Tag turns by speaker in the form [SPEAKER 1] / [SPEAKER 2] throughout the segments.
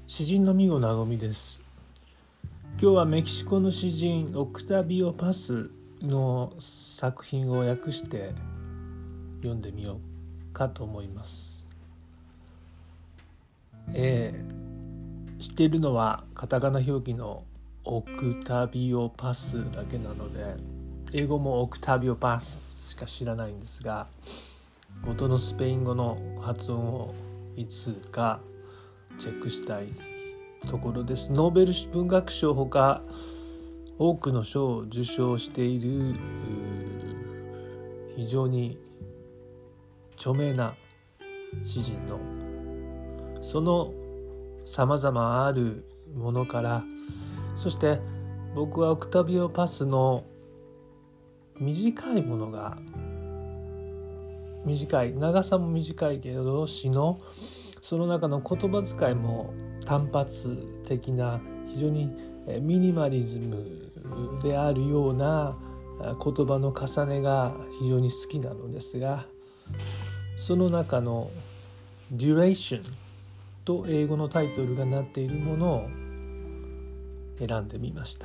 [SPEAKER 1] 詩人のミゴなごみです。今日はメキシコの詩人オクタビオ・パスの作品を訳して読んでみようかと思います。知っているのはカタカナ表記のオクタビオ・パスだけなので、英語もオクタビオ・パスしか知らないんですが、元のスペイン語の発音をいつかチェックしたいところです。ノーベル文学賞ほか多くの賞を受賞している非常に著名な詩人のそのさまざまあるものから、そして僕はオクタビオ・パスの短いものが長さも短いけど詩のその中の言葉遣いも単発的な非常にミニマリズムであるような言葉の重ねが非常に好きなのですが、その中の Duration と英語のタイトルがなっているものを選んでみました。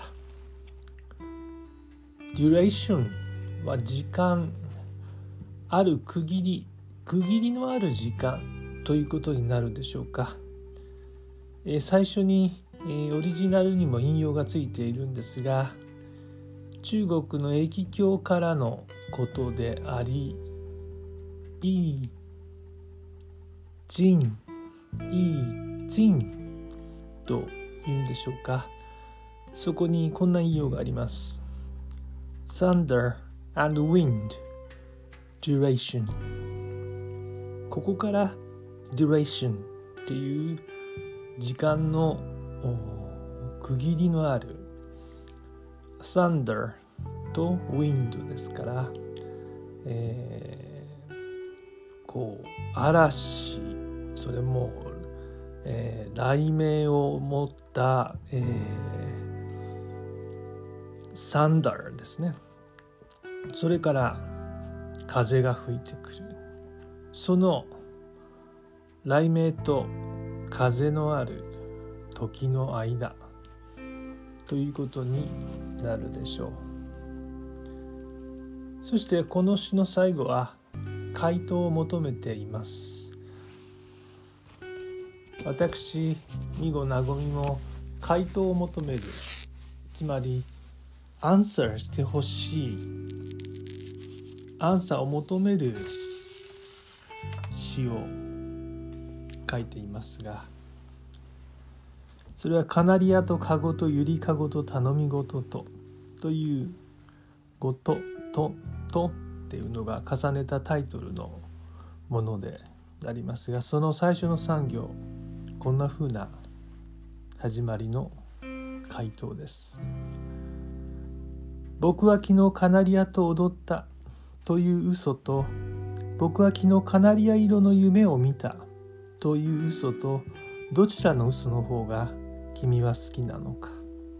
[SPEAKER 1] Duration は時間、ある区切りのある時間ということになるでしょうか。最初にオリジナルにも引用がついているんですが、中国の易経からのことであり、易经というんでしょうか。そこにこんな引用があります。 Thunder and wind duration。 ここからduration っていう時間の区切りのある thunder と wind ですから、嵐、それも、雷鳴を持った、thunder ですね。それから風が吹いてくる。その雷鳴と風のある時の間ということになるでしょう。そしてこの詩の最後は回答を求めています。私ミゴなごみも回答を求める、つまりアンサーしてほしい、アンサーを求める詩を書いていますが、それはカナリアとカゴとユリカゴと頼み事というごとっていうのが重ねたタイトルのものでありますが、その最初の3行、こんな風な始まりの回答です。僕は昨日カナリアと踊ったという嘘と、僕は昨日カナリア色の夢を見たという嘘と、どちらの嘘の方が君は好きなのか。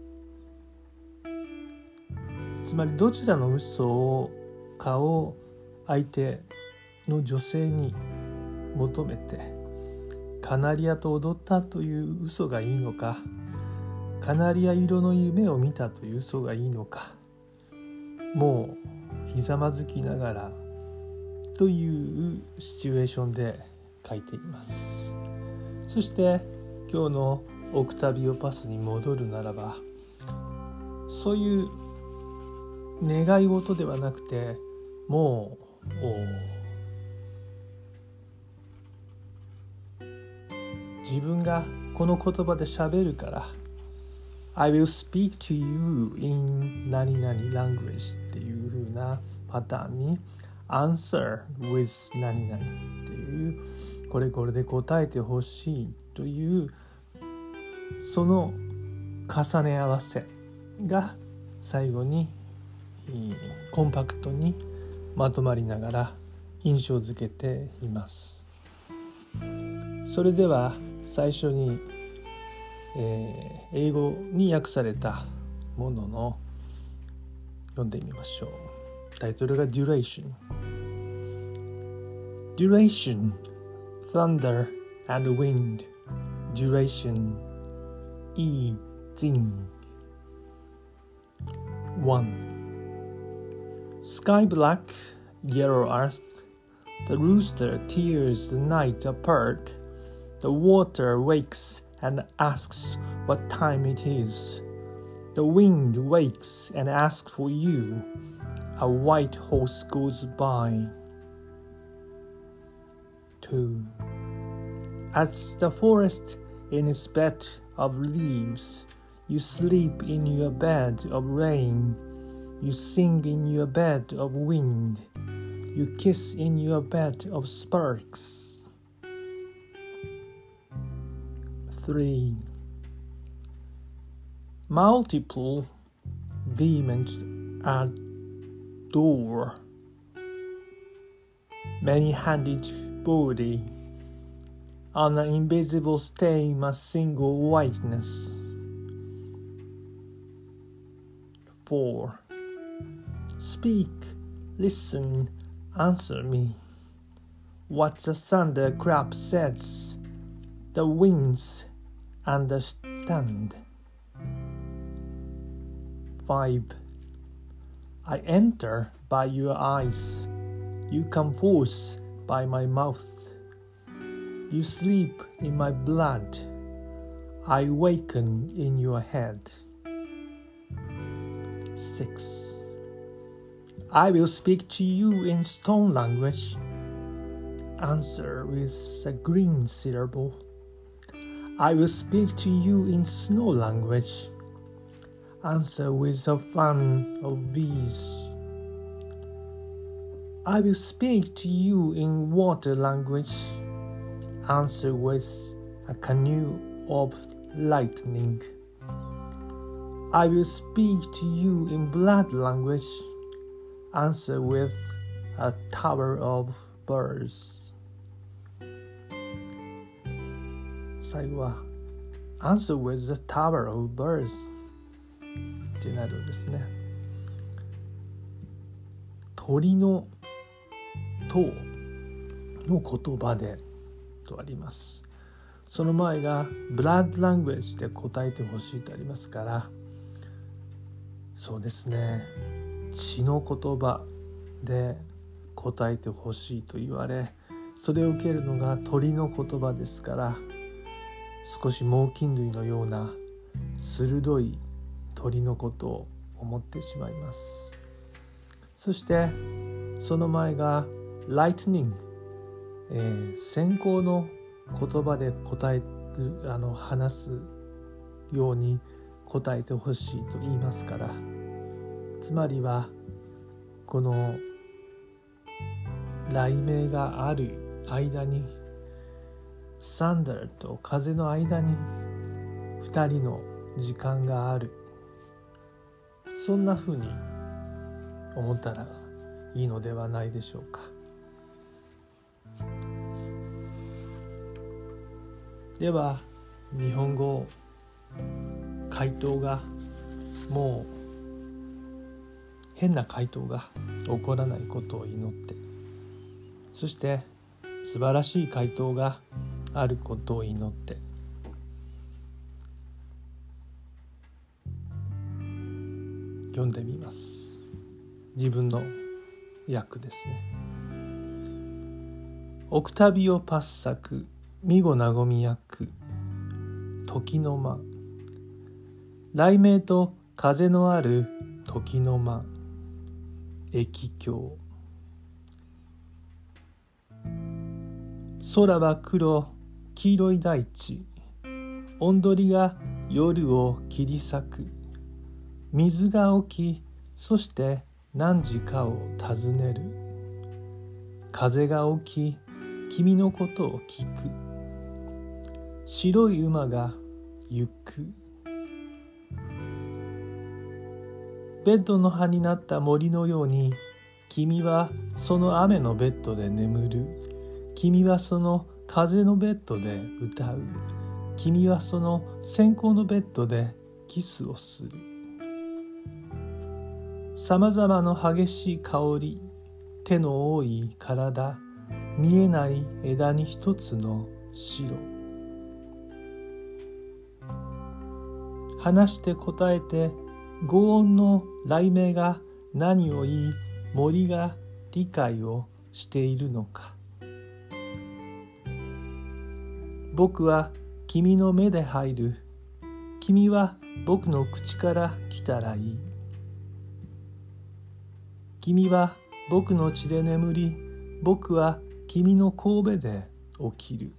[SPEAKER 1] つまりどちらの嘘かを相手の女性に求めて、カナリアと踊ったという嘘がいいのか、カナリア色の夢を見たという嘘がいいのか、もうひざまずきながらというシチュエーションで書いています。そして今日のオクタビオ・パスに戻るならば、そういう願い事ではなくて、もう自分がこの言葉で喋るから、I will speak to you in 何々 language っていう風なパターンに answer with 何々っていう、これで答えてほしいというその重ね合わせが最後にコンパクトにまとまりながら印象づけています。それでは最初に、英語に訳されたものの読んでみましょう。タイトルが Duration。 Duration, thunder and wind. Duration, eating. 1. Sky black, yellow earth. The rooster tears the night apart. The water wakes and asks what time it is. The wind wakes and asks for you. A white horse goes by. 2. As the forest in its bed of leaves, you sleep in your bed of rain. You sing in your bed of wind. You kiss in your bed of sparks. 3. Multiple vehement adore. Many-handed body. On an invisible stain a single whiteness. 4. Speak, listen, answer me. What the thunderclap says, the winds understand. 5. I enter by your eyes. You come forth by my mouth. You sleep in my blood. I waken in your head. 6. I will speak to you in stone language. Answer with a green syllable. I will speak to you in snow language. Answer with a fan of bees. I will speak to you in water language. Answer with a canoe of lightning. I will speak to you in blood language. Answer with a tower of birds. 最後は Answer with the tower of birds ってなるんですね。鳥の塔の言葉でとあります。その前がブラッドラングエッジで答えてほしいとありますから、そうですね、血の言葉で答えてほしいと言われ、それを受けるのが鳥の言葉ですから、少し猛禽類のような鋭い鳥のことを思ってしまいます。そしてその前が lightning、閃光の言葉で答える話すように答えてほしいと言いますから、つまりはこの雷鳴がある間に、サンダーと風の間に2人の時間がある、そんな風に思ったらいいのではないでしょうか。では日本語回答がもう変な回答が起こらないことを祈って、そして素晴らしい回答があることを祈って読んでみます。自分の訳ですね。オクタビオ・パッサク、ミゴ・ナゴミ訳、時の間。雷鳴と風のある時の間、駅境。空は黒、黄色い大地。雄鳥が夜を切り裂く。水が起き、そして何時かを尋ねる。風が起き、君のことを聞く。白い馬が行く。ベッドの葉になった森のように、君はその雨のベッドで眠る。君はその風のベッドで歌う。君はその閃光のベッドでキスをする。さまざまの激しい香り、手の多い体、見えない枝に一つの白。 話して答えて、轟音の雷鳴が何を言い、森が理解をしているのか。僕は君の目で入る。君は僕の口から来たらいい。君は僕の血で眠り、僕は君の神戸で起きる。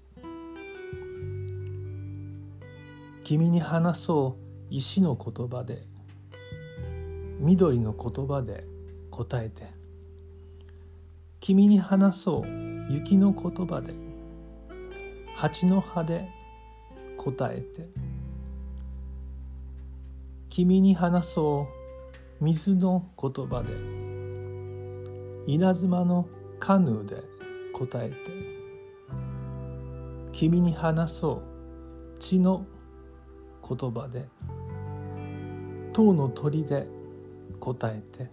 [SPEAKER 1] 君に話そう石の言葉で、緑の言葉で答えて。君に話そう雪の言葉で、蜂の葉で答えて。君に話そう水の言葉で、稲妻のカヌーで答えて。君に話そう血の言葉で、塔の鳥で答えて。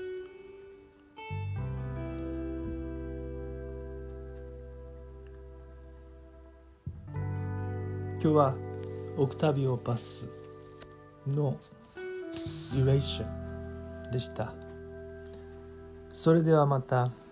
[SPEAKER 1] 今日はオクタビオ・パスのデュレーションでした。それではまた。